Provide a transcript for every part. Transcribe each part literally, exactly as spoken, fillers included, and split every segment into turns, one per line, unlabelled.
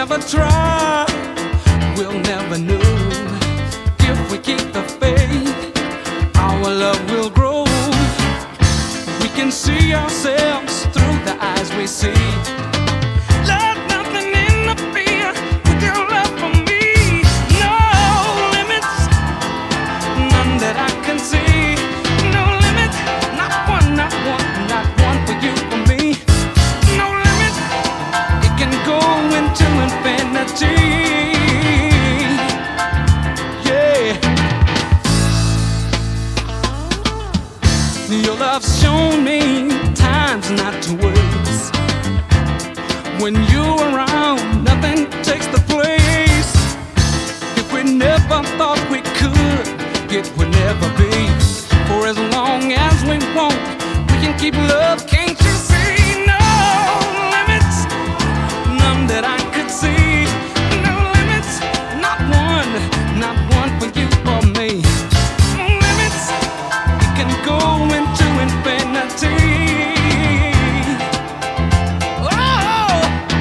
never try, we'll never know. If we keep the faith, our love will grow. We can see ourselves through the eyes we see. Let nothing interfere with your love for me. No limits, none that I can see. No limits, not one, not one, not one for you, for me. No limit, it can go into infinity. Your love's shown me times not to waste. When you're around, nothing takes the place. If we never thought we could, it would never be. For as long as we want, we can keep love, can't you see? No limits, none that I could see. No limits, not one, not one for you or me. No limits, it can go into infinity. Oh!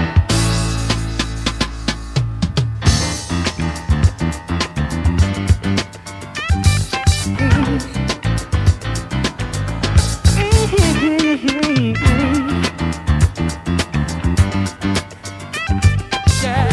Yeah.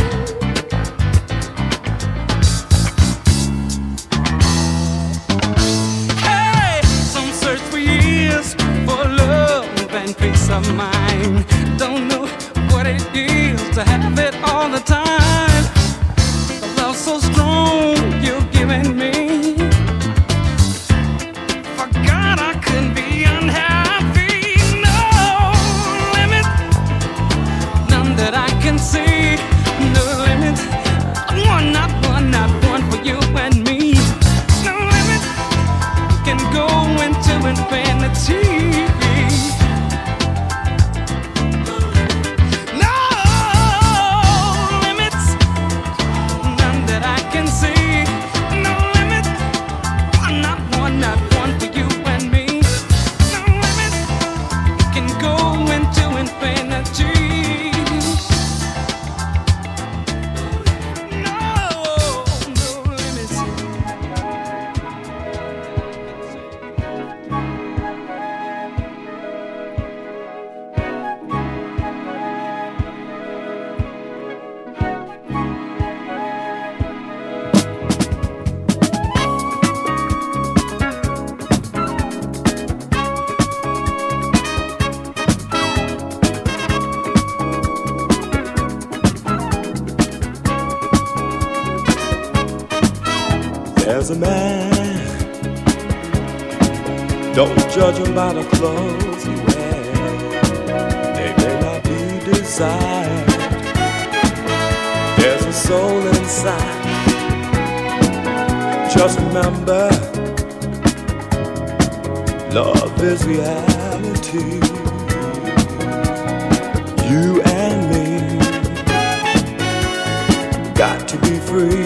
Hey, some search for years for love and peace of mind. Don't know what it is to have it all the time. The love so strong you're giving me. Forgot I couldn't be unhappy. No limit, none that I can see. No limit, one, not one, not one for you and me. No limit, can go into infinity. No limits, none that I can see. No limit, one, not one, not one for you and me. No limit, can go into infinity. No, no limits.
There's a man, don't judge him by the clothes he wears. They may not be desired. There's a soul inside. Just remember, love is reality. You and me got to be free.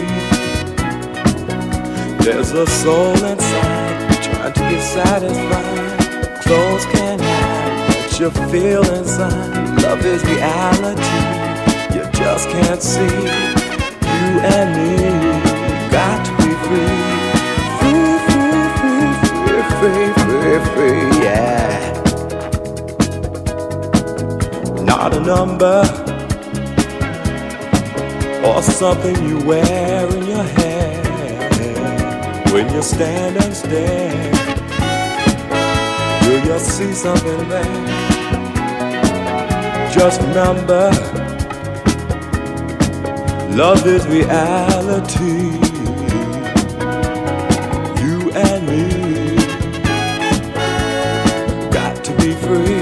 There's a soul inside trying to get satisfied. Clothes can't hide what you feel inside. Love is reality, you just can't see. You and me got to be free. Free, free, free, free, free, free, free, yeah. Not a number or something you wear in your hair. When you stand and stare, will you see something there? Just remember, love is reality. You and me got to be free.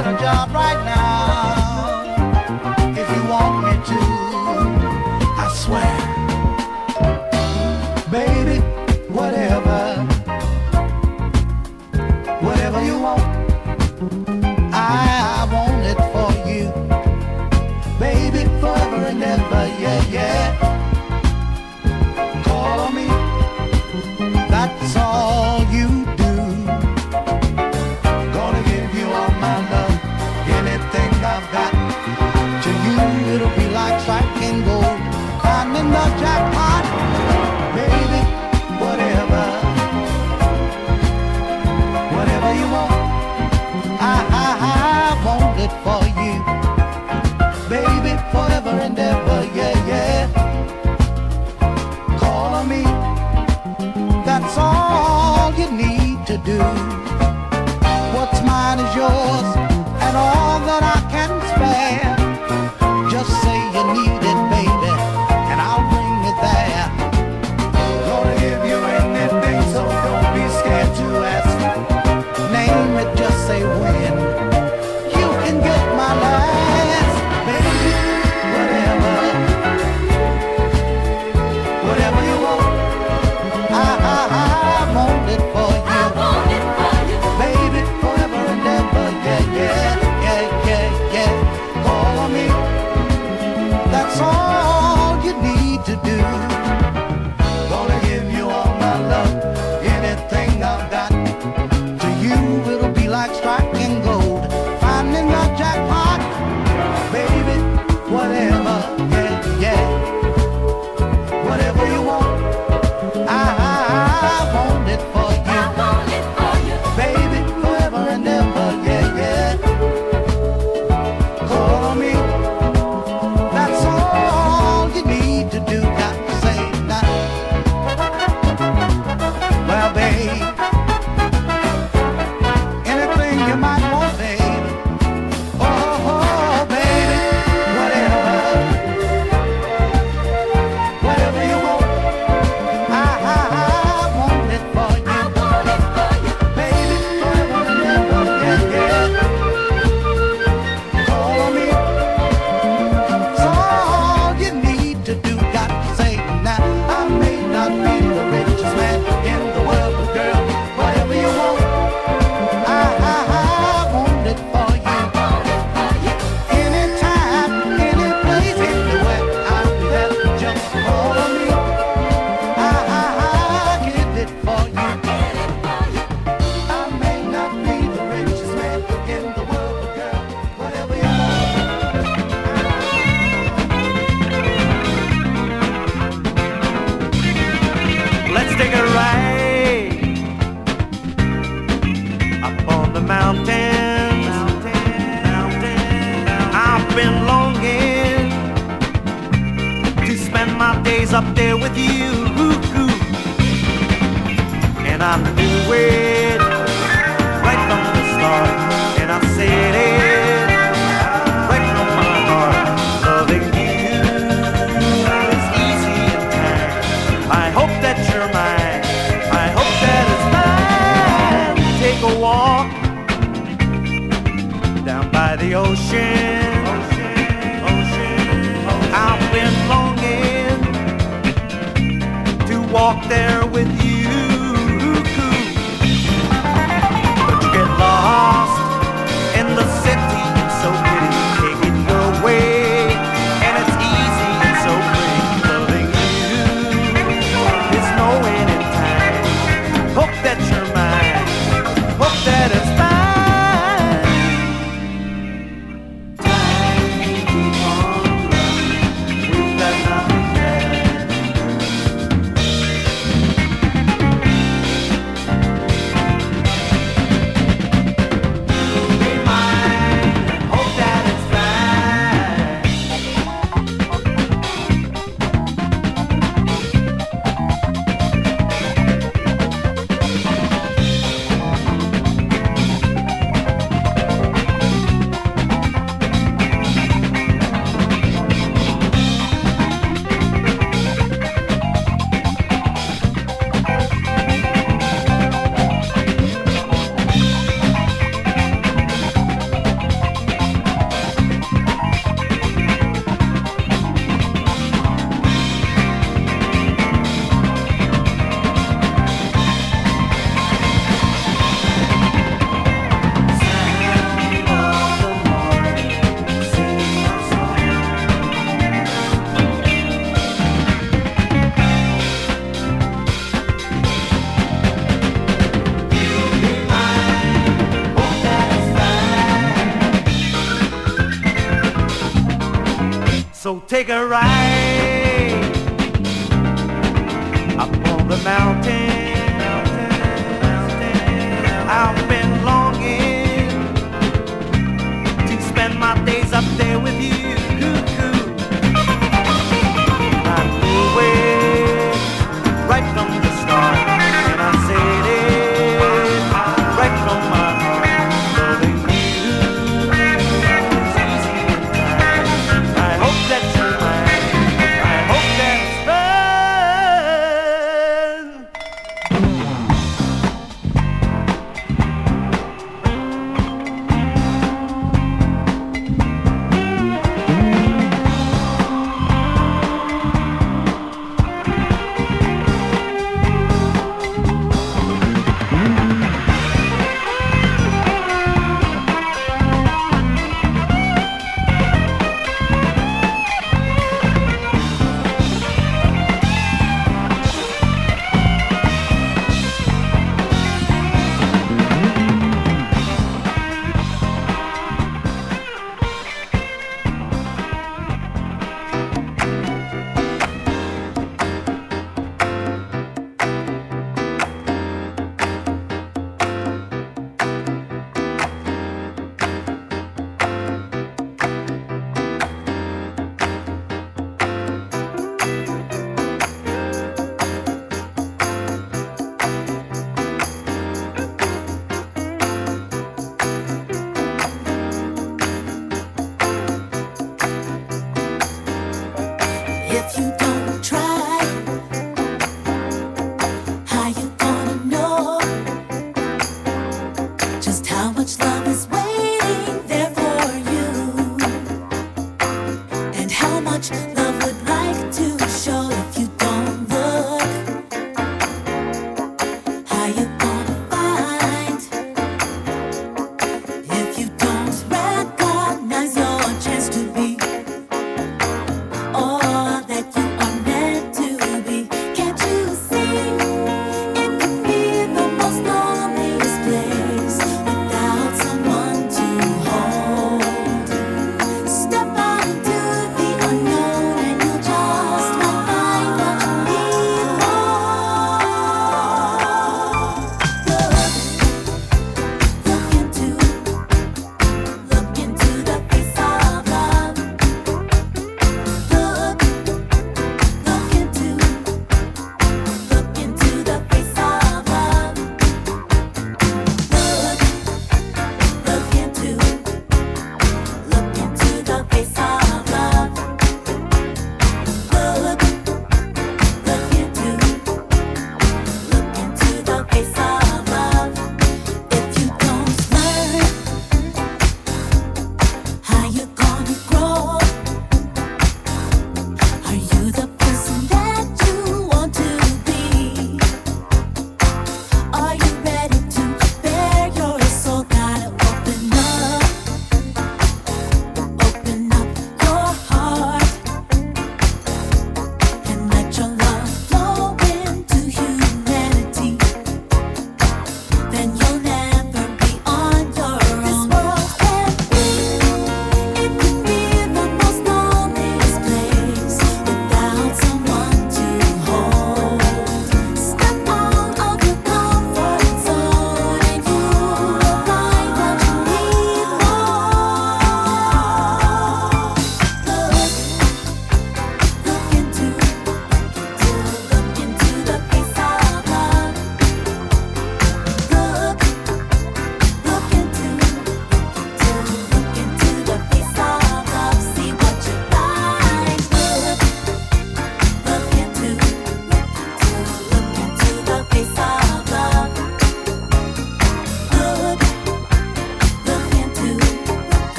get a job right now. If you want me to, I swear, baby, whatever, whatever you want, I want it for you, baby, forever and ever, yeah, yeah. Call on me, that's all you do. Gonna give you all my love, anything I've got. To you it'll be like striking gold, finding the jackpot, baby, whatever, whatever you want, I, I, I want it for you, baby, forever and ever, yeah, yeah. Call on me, that's all you need to do. What's mine is yours, and all that I can spare. Just say you need it, baby, and I'll bring it there. Gonna give you anything, so don't be scared to ask. Name it, just say when. You can get my last, baby, whatever, whatever you want, I, I, I want it for you. I want it for you, baby, forever and ever, yeah, yeah, yeah, yeah, yeah. Call on me, that's all you need to do. Gonna give you all my love, anything I've got. To you it'll be like striking gold, finding the jackpot, baby, whatever, yeah, yeah. Whatever you want, I, I, I want it for you. I want it for you, baby, forever and ever, yeah, yeah. Call on me, that's all you need to do. Got to say now, well, babe, anything you might want, baby. Oh, oh, baby, whatever, whatever you want, I, I, I want it for you. I want it for you, baby, forever and ever, yeah, yeah. Call on me, it's all you need to do. Got to say now, I may not be the richest man in the world, but girl, whatever you want, I, I, I want it for you. Anytime, any place, anywhere, I'll be there. Just call on me, I, I, I get it for you. I may not be the richest man in the world, but girl, whatever you want.
Let's take a ride up on the mountains. I've been longing to spend my days up there with you, and I knew it right from the start, and I said it right from my heart. Loving you is easy in time. I hope that you're mine. I hope that it's mine. Take a walk down by the ocean. I've been longing to walk there with you, but you get lost in the city. It's so pretty, take it your way, and it's easy and so pretty. Loving you is no end in time. Hope that you're mine. Hope that it's mine. Time to keep on running. We've got nothing left. So take a ride up on the mountain, mountain. I've been longing to spend my days up there with you. I knew it right from the start, and I said it right from my heart. Loving you is easy in time. I hope that you mind. I hope that it's fun.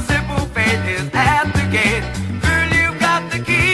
simple fate is at the gate. Girl, you've got the key.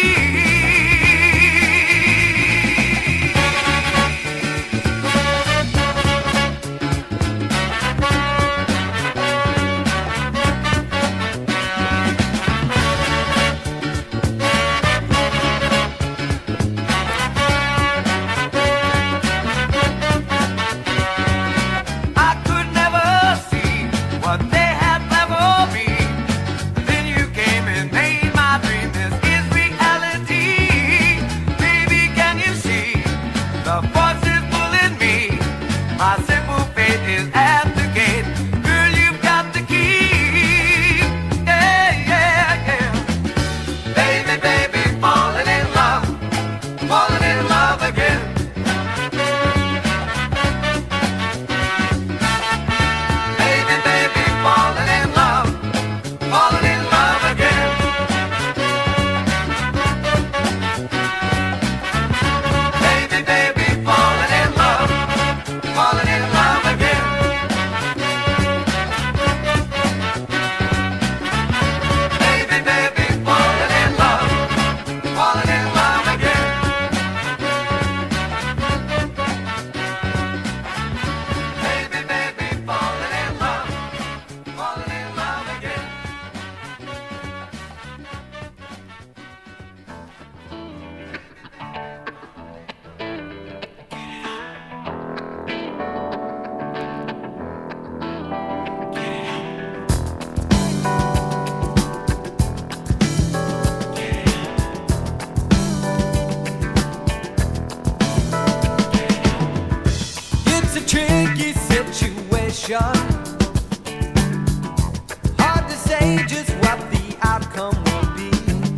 Hard to say just what the outcome will be.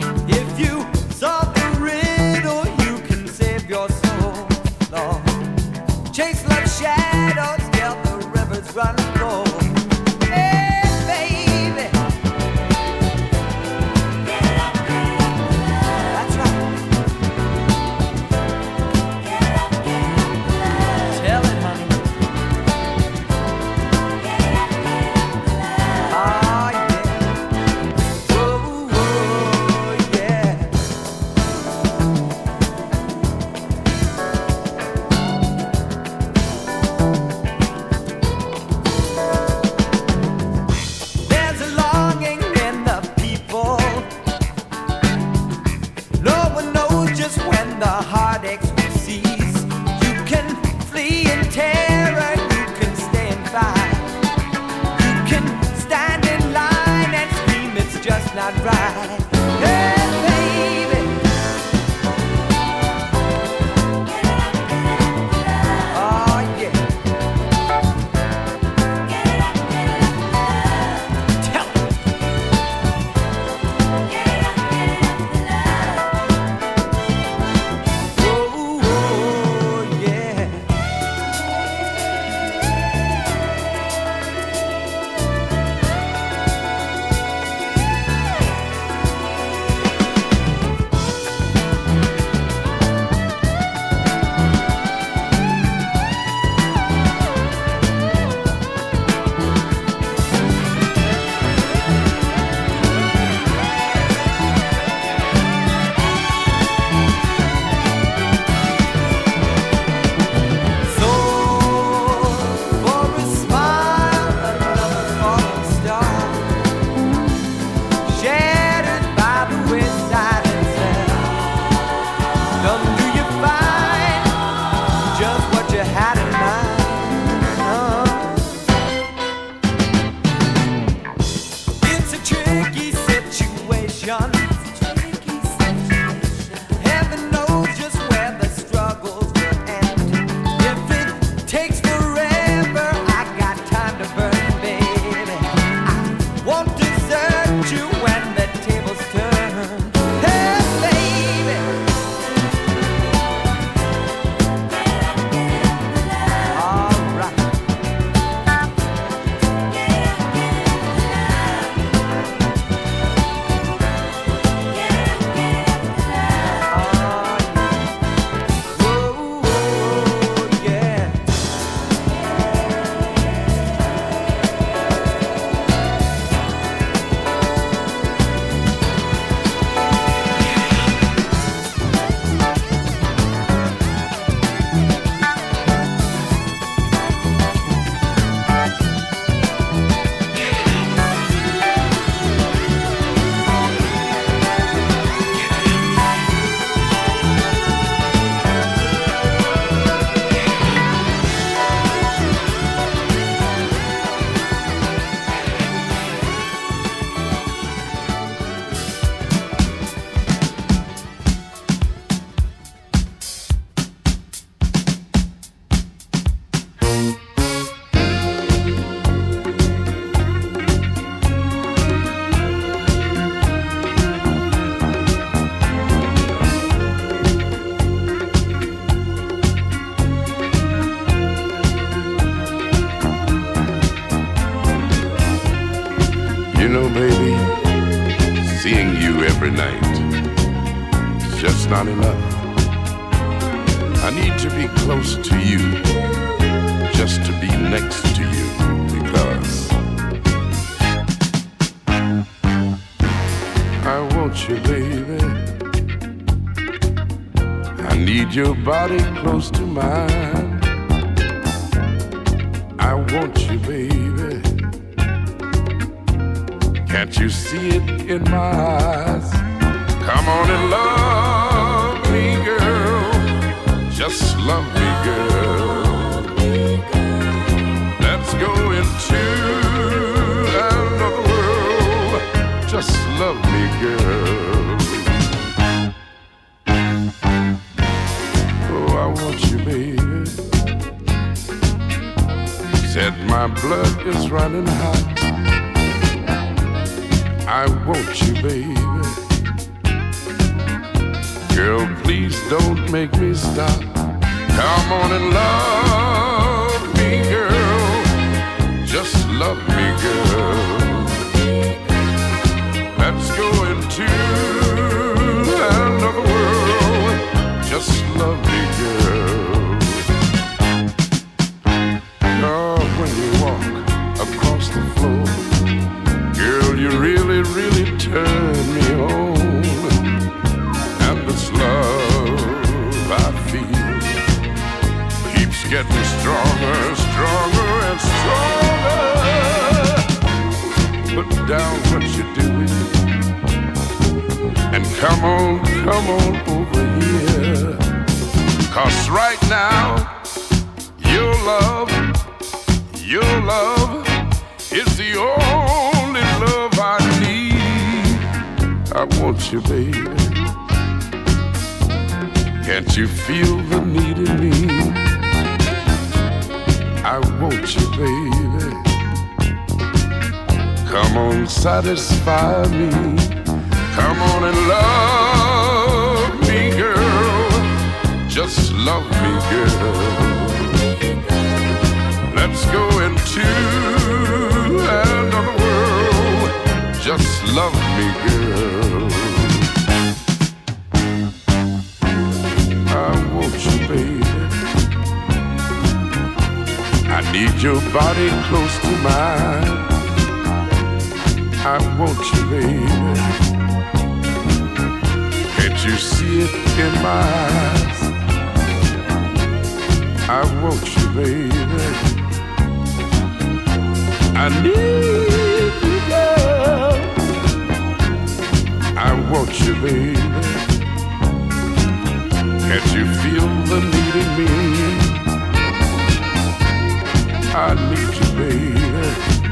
If you solve the riddle, you can save your soul. Lord. Chase love's shadows till the rivers run cold. Hey, baby. Get up, get up, that's right. Get up, get up, tell it, honey. Not right. Hey, baby. Oh, yeah. Tell me. Oh, oh, yeah.
Seeing you every night is just not enough. I need to be close to you, just to be next to you, because I want you, baby. I need your body close to mine. I want you, baby. Can't you see it in my eyes? Come on and love me, girl. Just love me, girl. Let's go into another world. Just love me, girl. Oh, I want you, baby. Said my blood is running hot. I want you, baby. Girl, please don't make me stop. Come on and love me, girl. Just love me, girl. Let's go into another world. Just love me, girl. Oh, when you walk across the floor, girl, you really, really turn me on. And this love I feel keeps getting stronger, stronger and stronger. Put down what you're doing and come on, come on over here. 'Cause right now, your love, your love is the only love I need. I want you, baby. Can't you feel the need in me? I want you, baby. Come on, satisfy me. Come on and love me, girl. Just love me, girl. Let's go into another world. Just love me, girl. I want you, baby. I need your body close to mine. I want you, baby. Can't you see it in my eyes? I want you, baby. I need you, girl. I want you, baby. Can't you feel the need in me? I need you, baby.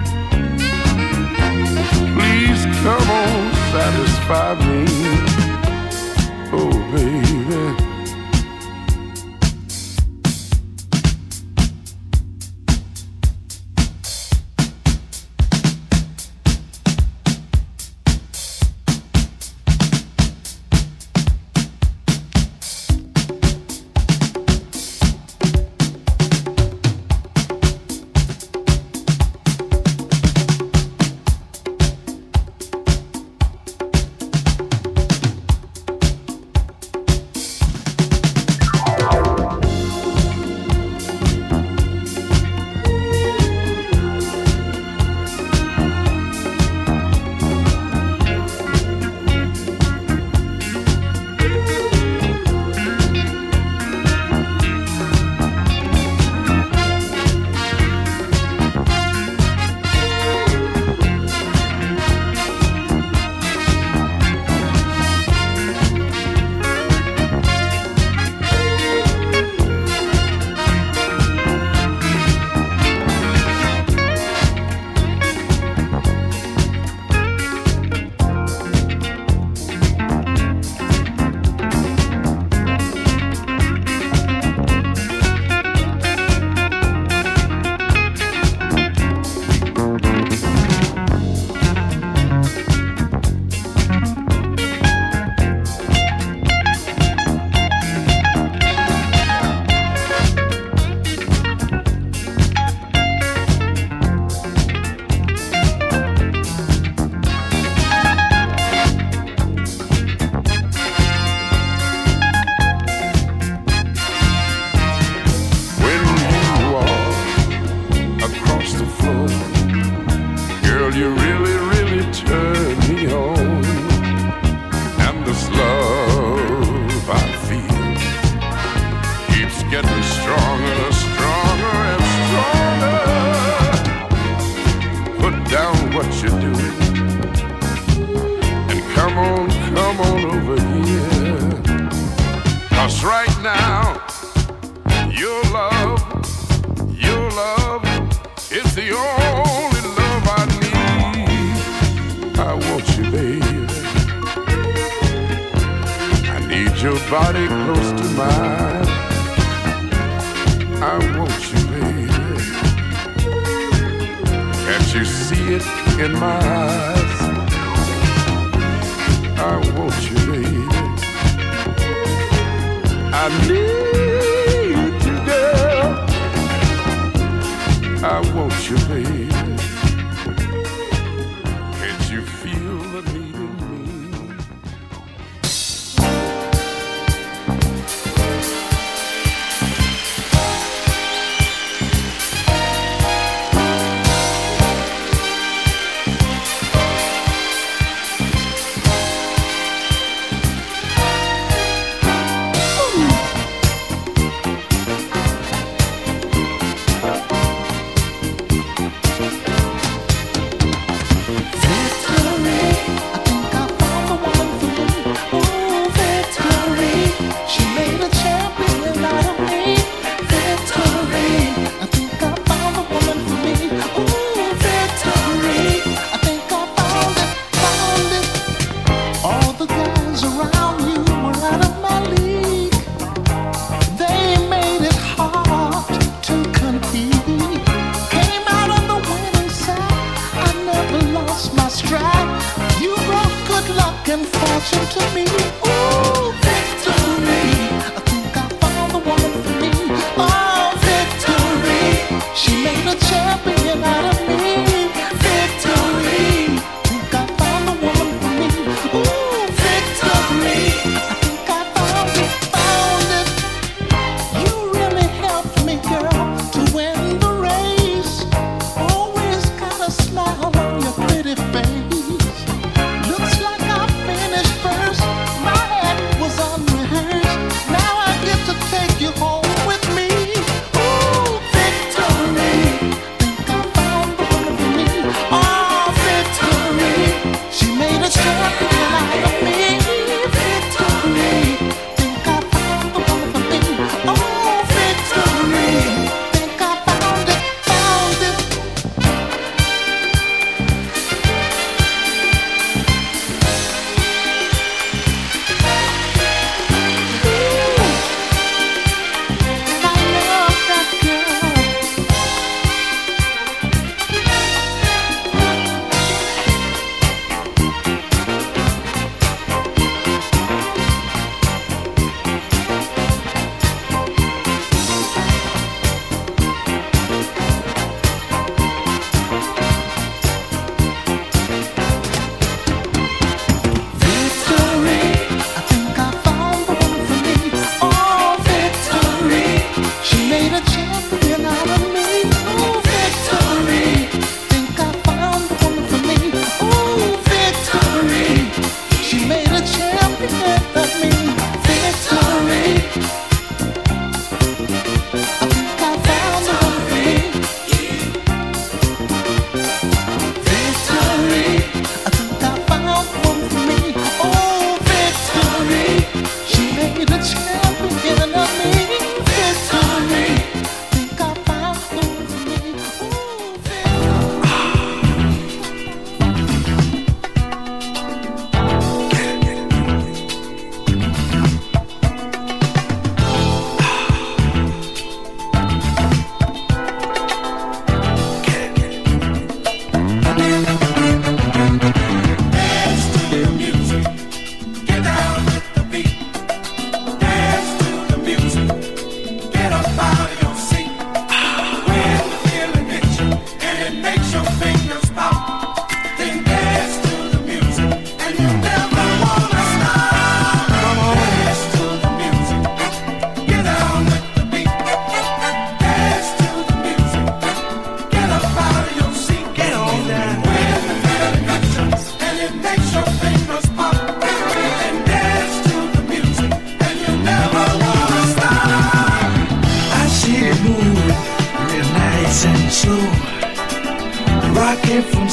Please come on, satisfy me. Oh, baby. alone. And this love I feel keeps getting stronger, stronger and stronger. Put down what you're doing and come on, come on over here. 'Cause right now, your love, your love is the only love I need. I want you, baby. I need your body close to mine. I want you, baby. Can't you see it in my eyes? I want you, baby. I need you, girl. I want you, baby. Can't you feel the need in me?
Looks like I finished first.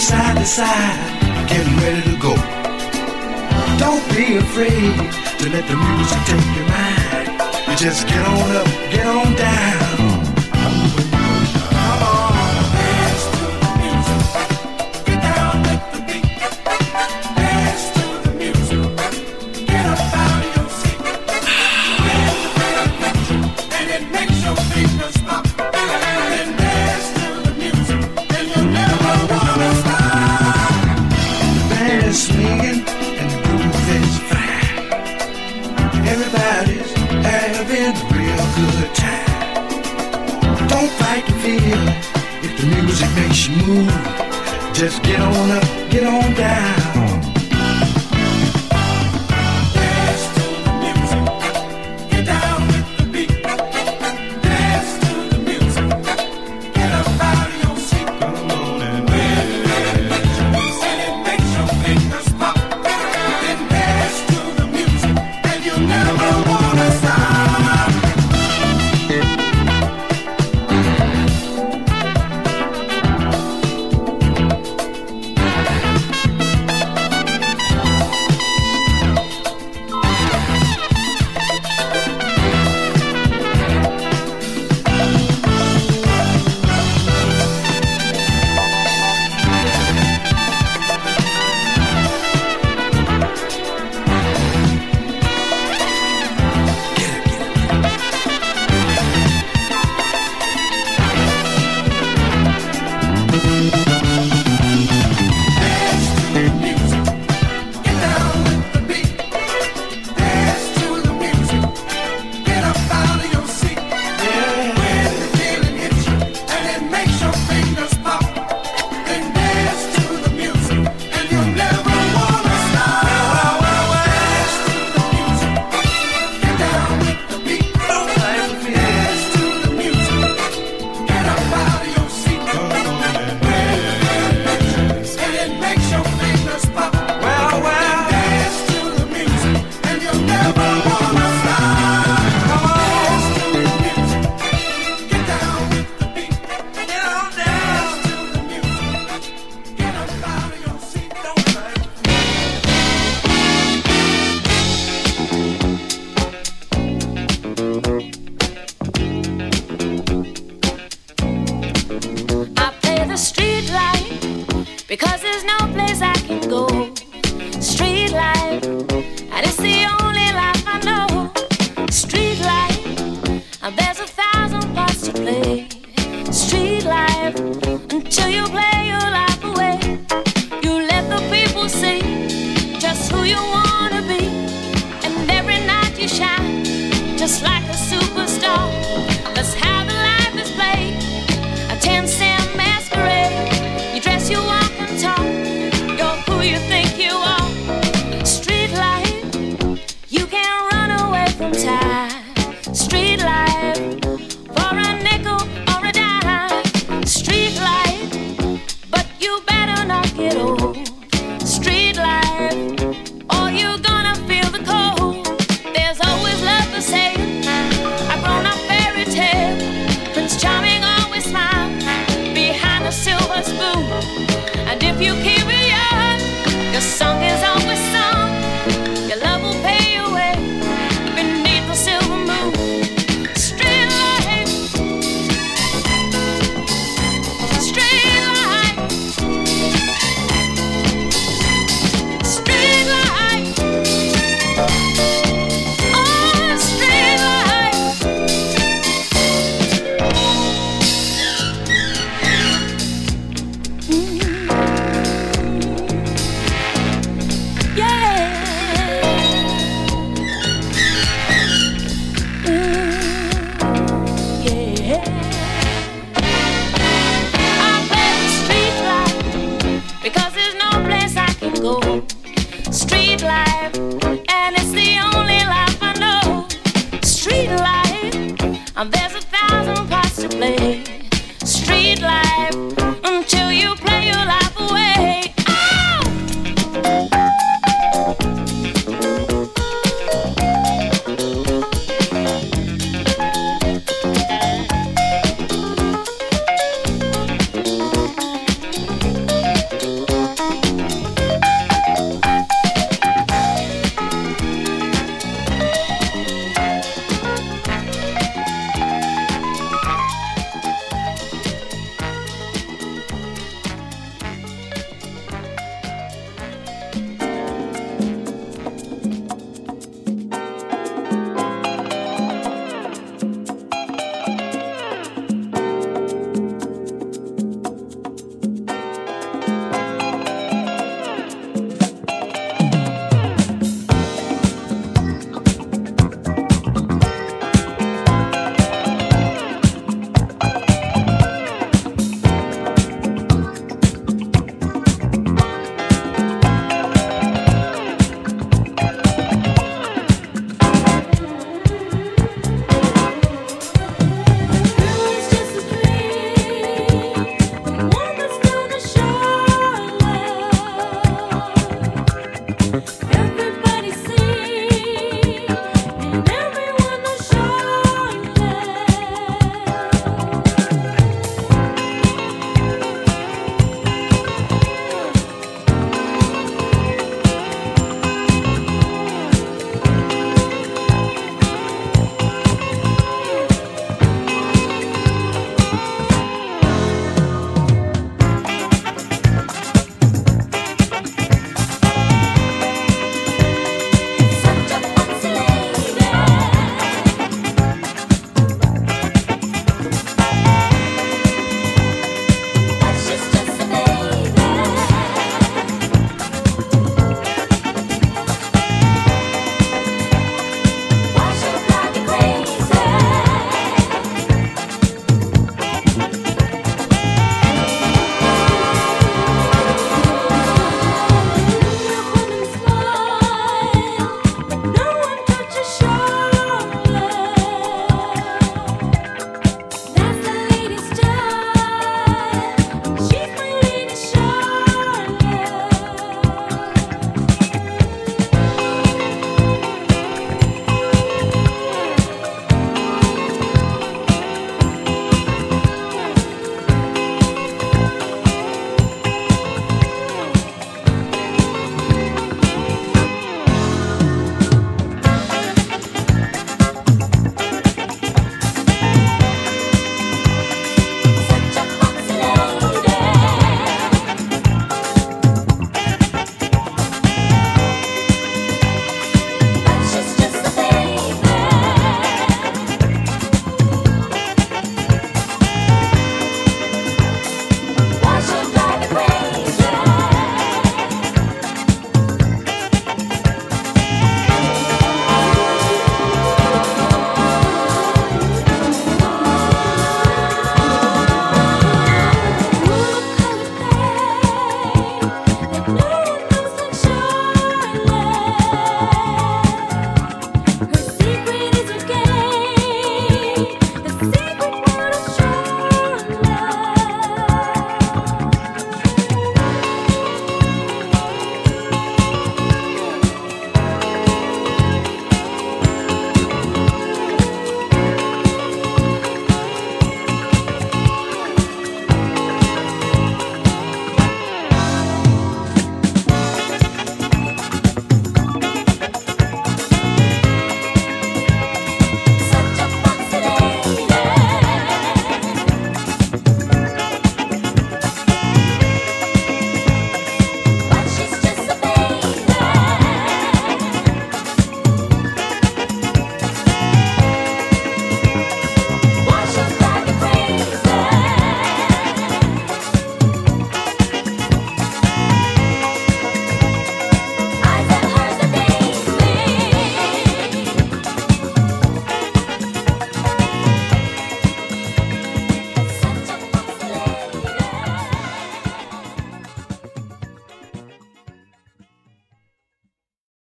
side to side, getting ready to go. Don't be afraid to let the music take your mind. You just get on up, get on down. Come on, dance to the music. Get down with the beat. Dance to the music. Get up out of your seat. Dance to the picture, and it makes your fingers stop. Then dance to the music, and you never wanna stop. The band is swinging, and the groove is fine. Everybody's having a real good time. Don't fight the feel if the music makes you move. Just get on up, get on down. Dance to the music, get down with the beat. Dance to the music, get up out of your seat. Come on and dance, and it makes your fingers pop. Then dance to the music, and you never wanna stop.
Because there's no place I can go. Street life, and it's the only life I know. Street life, and there's a thousand parts to play. Street life, until you play your life away. You let the people see just who you wanna be, and every night you shine, just like a super.